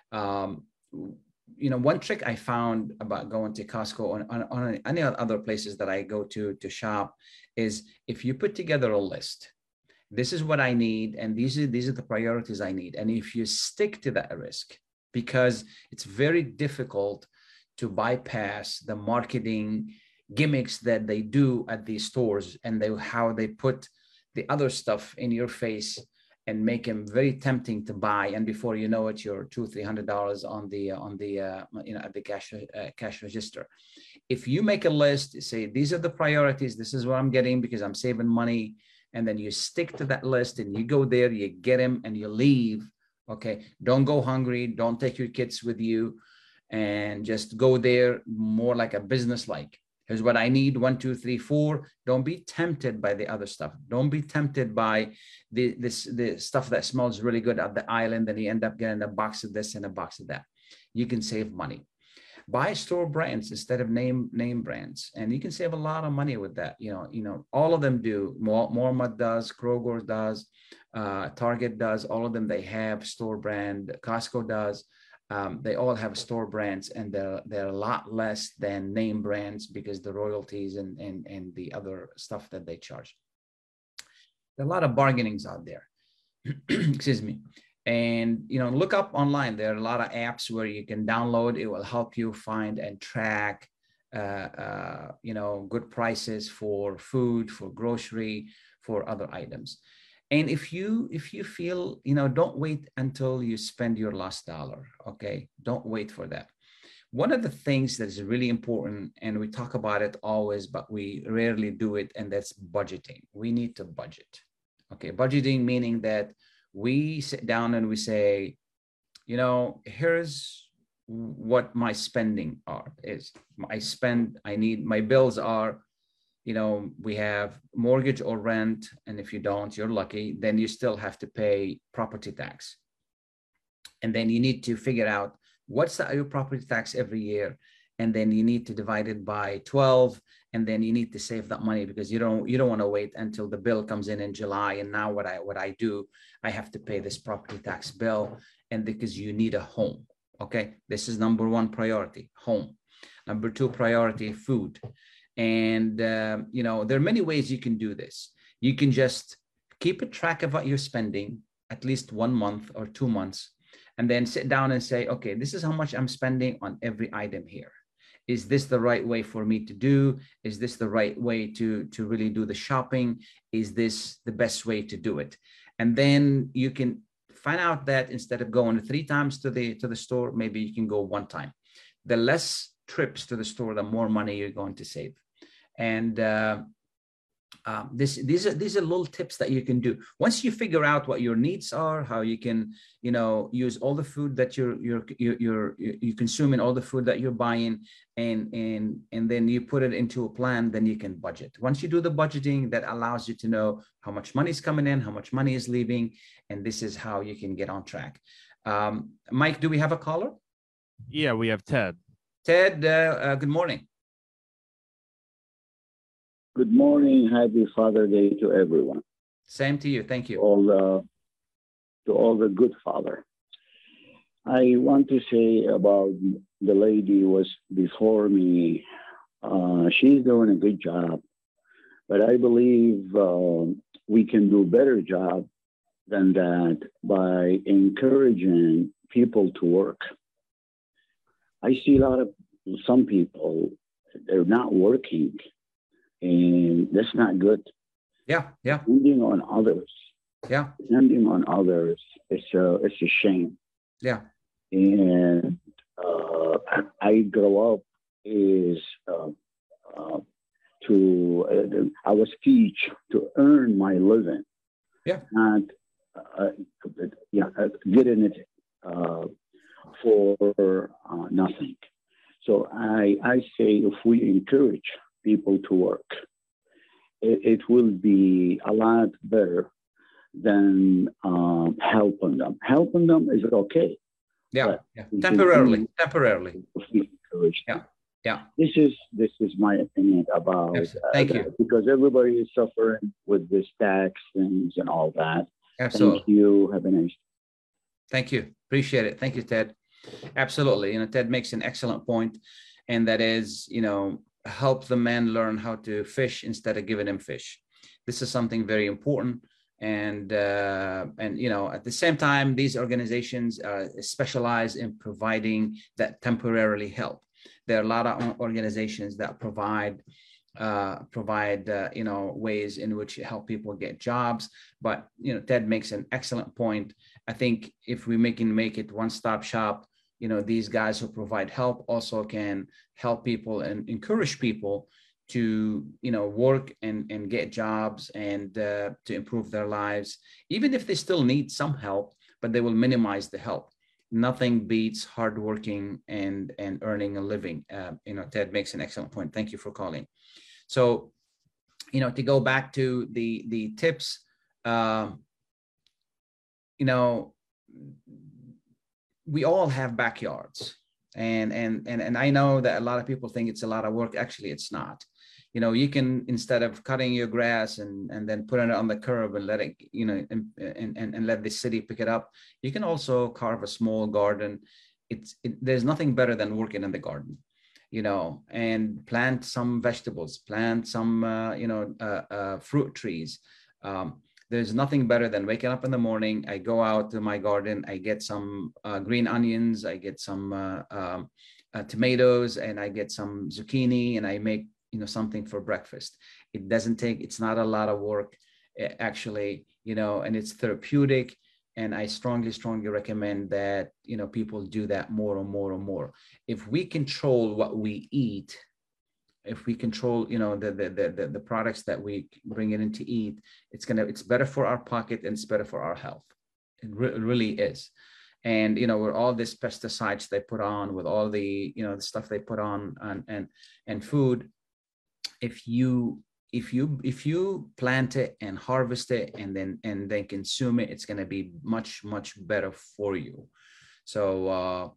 One trick I found about going to Costco on any other places that I go to shop is, if you put together a list, this is what I need, and these are the priorities I need. And if you stick to that risk, because it's very difficult to bypass the marketing gimmicks that they do at these stores, and how they put the other stuff in your face and make them very tempting to buy. And before you know it, you're $200-$300 at the cash register. If you make a list, say, these are the priorities, this is what I'm getting because I'm saving money, and then you stick to that list and you go there, you get them, and you leave. Okay. Don't go hungry. Don't take your kids with you, and just go there more like a business like. Here's what I need, 1, 2, 3, 4. Don't be tempted by the other stuff. Don't be tempted by the stuff that smells really good at the island, and you end up getting a box of this and a box of that. You can save money. Buy store brands instead of name brands, and you can save a lot of money with that. All of them do. Walmart does, Kroger does, Target does. All of them, they have store brand. Costco does. They all have store brands, and they're a lot less than name brands, because the royalties and the other stuff that they charge. There are a lot of bargainings out there. Excuse me. And, look up online. There are a lot of apps where you can download. It will help you find and track, good prices for food, for grocery, for other items. And if you feel, don't wait until you spend your last dollar. Okay. Don't wait for that. One of the things that is really important, and we talk about it always, but we rarely do it, and that's budgeting. We need to budget. Okay. Budgeting, meaning that we sit down and we say, here's what my spending is. My bills are, we have mortgage or rent. And if you don't, you're lucky, then you still have to pay property tax. And then you need to figure out what's your property tax every year. And then you need to divide it by 12. And then you need to save that money, because you don't want to wait until the bill comes in July. And now what I do, I have to pay this property tax bill. And because you need a home. Okay. This is number one priority, home. Number two priority, food. And, there are many ways you can do this. You can just keep a track of what you're spending at least 1 month or 2 months, and then sit down and say, okay, this is how much I'm spending on every item here. Is this the right way for me to do? Is this the right way to really do the shopping? Is this the best way to do it? And then you can find out that instead of going 3 times to the store, maybe you can go 1 time. The less trips to the store, the more money you're going to save. And these are little tips that you can do. Once you figure out what your needs are, how you can, use all the food that you're consuming, all the food that you're buying, and then you put it into a plan, then you can budget. Once you do the budgeting, that allows you to know how much money is coming in, how much money is leaving, and this is how you can get on track. Mike, do we have a caller? Yeah, we have Ted. Ted, good morning. Good morning. Happy Father's Day to everyone. Same to you. Thank you. To all the good father. I want to say about the lady who was before me. She's doing a good job, but I believe we can do a better job than that by encouraging people to work. I see some people, they're not working, and that's not good. Yeah. Depending on others. Yeah. Depending on others, it's a shame. Yeah. And I grow up I was teach to earn my living. Yeah. Not getting it for nothing. So I say if we encourage people to work, it will be a lot better than helping them. Helping them is okay. Yeah. Temporarily. If we encourage them. Yeah. This is my opinion about Thank you. Because everybody is suffering with this tax things and all that. Absolutely. Thank you. Have a nice day. Thank you. Appreciate it. Thank you, Ted. Absolutely. Ted makes an excellent point, and that is, help the man learn how to fish instead of giving him fish. This is something very important. And at the same time, these organizations specialize in providing that temporarily help. There are a lot of organizations that provide ways in which help people get jobs. But Ted makes an excellent point. I think if we make it one-stop shop, these guys who provide help also can help people and encourage people to work and get jobs and to improve their lives, even if they still need some help, but they will minimize the help. Nothing beats hardworking and earning a living. Ted makes an excellent point. Thank you for calling. So, to go back to the tips, we all have backyards, and I know that a lot of people think it's a lot of work. Actually, it's not. You can, instead of cutting your grass and then putting it on the curb and let it, and let the city pick it up, you can also carve a small garden. There's nothing better than working in the garden, and plant some vegetables, plant some, fruit trees. There's nothing better than waking up in the morning. I go out to my garden, I get some green onions, I get some tomatoes, and I get some zucchini, and I make something for breakfast. It's not a lot of work, actually, and it's therapeutic. And I strongly recommend that, people do that more and more and more. If we control what we eat, if we control, the products that we bring in to eat, it's better for our pocket and it's better for our health. It really is. And, with all these pesticides they put on, with all the, the stuff they put on and food, if you plant it and harvest it and then consume it, it's going to be much better for you. So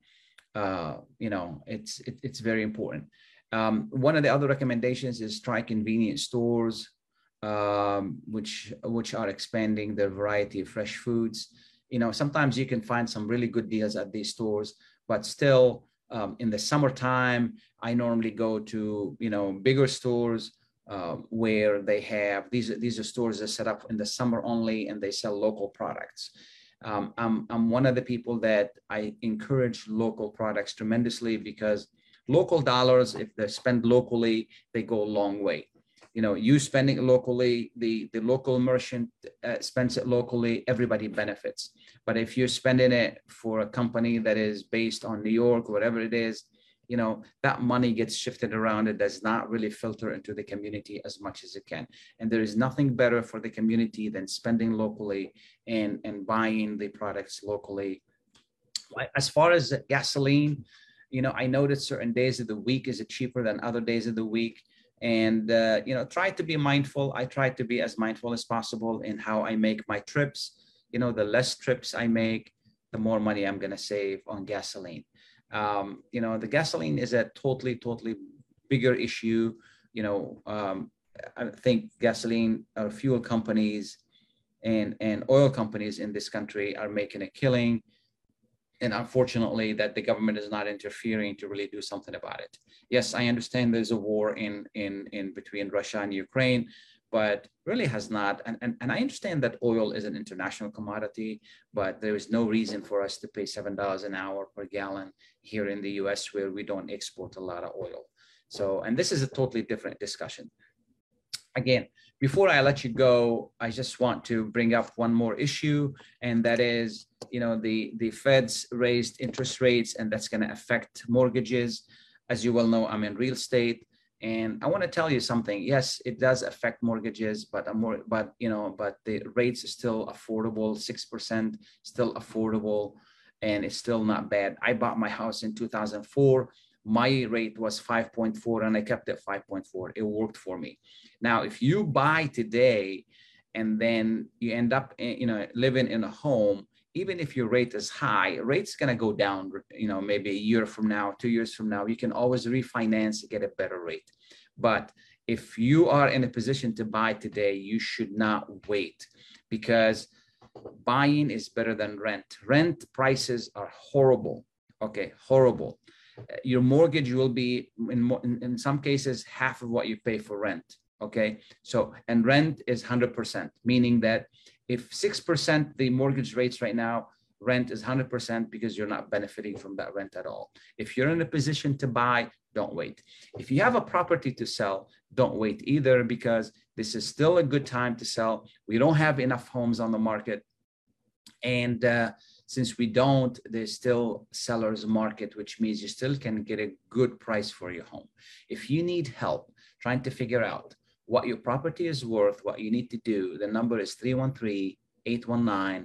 it's very important. One of the other recommendations is try convenience stores, which are expanding their variety of fresh foods. Sometimes you can find some really good deals at these stores, but still, in the summertime, I normally go to, bigger stores where they have, these are stores that set up in the summer only, and they sell local products. I'm one of the people that I encourage local products tremendously, because local dollars, if they're spent locally, they go a long way. You spending it locally, the local merchant spends it locally, everybody benefits. But if you're spending it for a company that is based on New York, whatever it is, that money gets shifted around. It does not really filter into the community as much as it can. And there is nothing better for the community than spending locally and buying the products locally. As far as gasoline, I noticed certain days of the week is it cheaper than other days of the week. And, try to be mindful. I try to be as mindful as possible in how I make my trips. The less trips I make, the more money I'm going to save on gasoline. The gasoline is a totally bigger issue. I think gasoline or fuel companies and oil companies in this country are making a killing. And unfortunately, that the government is not interfering to really do something about it. Yes, I understand there's a war in between Russia and Ukraine, but really has not. And I understand that oil is an international commodity, but there is no reason for us to pay $7 an hour per gallon here in the US, where we don't export a lot of oil. So, and this is a totally different discussion. Again, before I let you go, I just want to bring up one more issue, and that is, you know, the Feds raised interest rates, and that's going to affect mortgages. As you well know, I'm in real estate, and I want to tell you something. Yes, it does affect mortgages, but the rates are still affordable. 6% still affordable, and it's still not bad. I bought my house in 2004. My rate was 5.4 and I kept it 5.4. It worked for me. Now, if you buy today and then you end up, living in a home, even if your rate is high, rate's going to go down, maybe a year from now, 2 years from now. You can always refinance to get a better rate. But if you are in a position to buy today, you should not wait, because buying is better than rent. Rent prices are horrible. Okay, horrible. Your mortgage will be in some cases half of what you pay for rent. Okay, so, and rent is 100%, meaning that if 6% the mortgage rates right now, rent is 100% because you're not benefiting from that rent at all. If you're in a position to buy, don't wait. If you have a property to sell, don't wait either, because this is still a good time to sell. We don't have enough homes on the market. And since we don't, there's still seller's market, which means you still can get a good price for your home. If you need help trying to figure out what your property is worth, what you need to do, the number is 313-819-0101.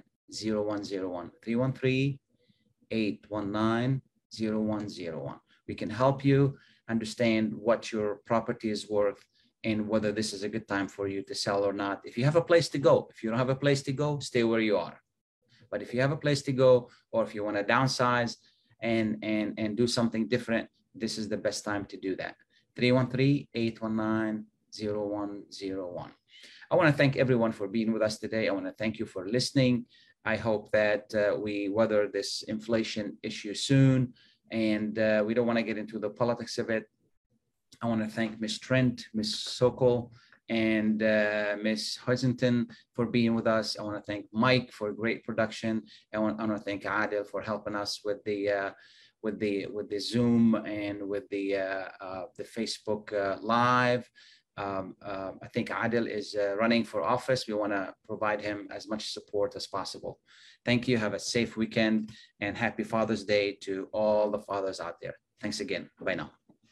313-819-0101. We can help you understand what your property is worth and whether this is a good time for you to sell or not. If you have a place to go, if you don't have a place to go, stay where you are. But if you have a place to go, or if you want to downsize and do something different, this is the best time to do that. 313-819-0101. I want to thank everyone for being with us today. I want to thank you for listening. I hope that we weather this inflation issue soon, and we don't want to get into the politics of it. I want to thank Ms. Trent, Ms. Sokol, and Ms. Hoisington for being with us. I want to thank Mike for great production. I want to thank Adil for helping us with the Zoom and with the Facebook Live. I think Adil is running for office. We want to provide him as much support as possible. Thank you. Have a safe weekend and happy Father's Day to all the fathers out there. Thanks again. Bye now.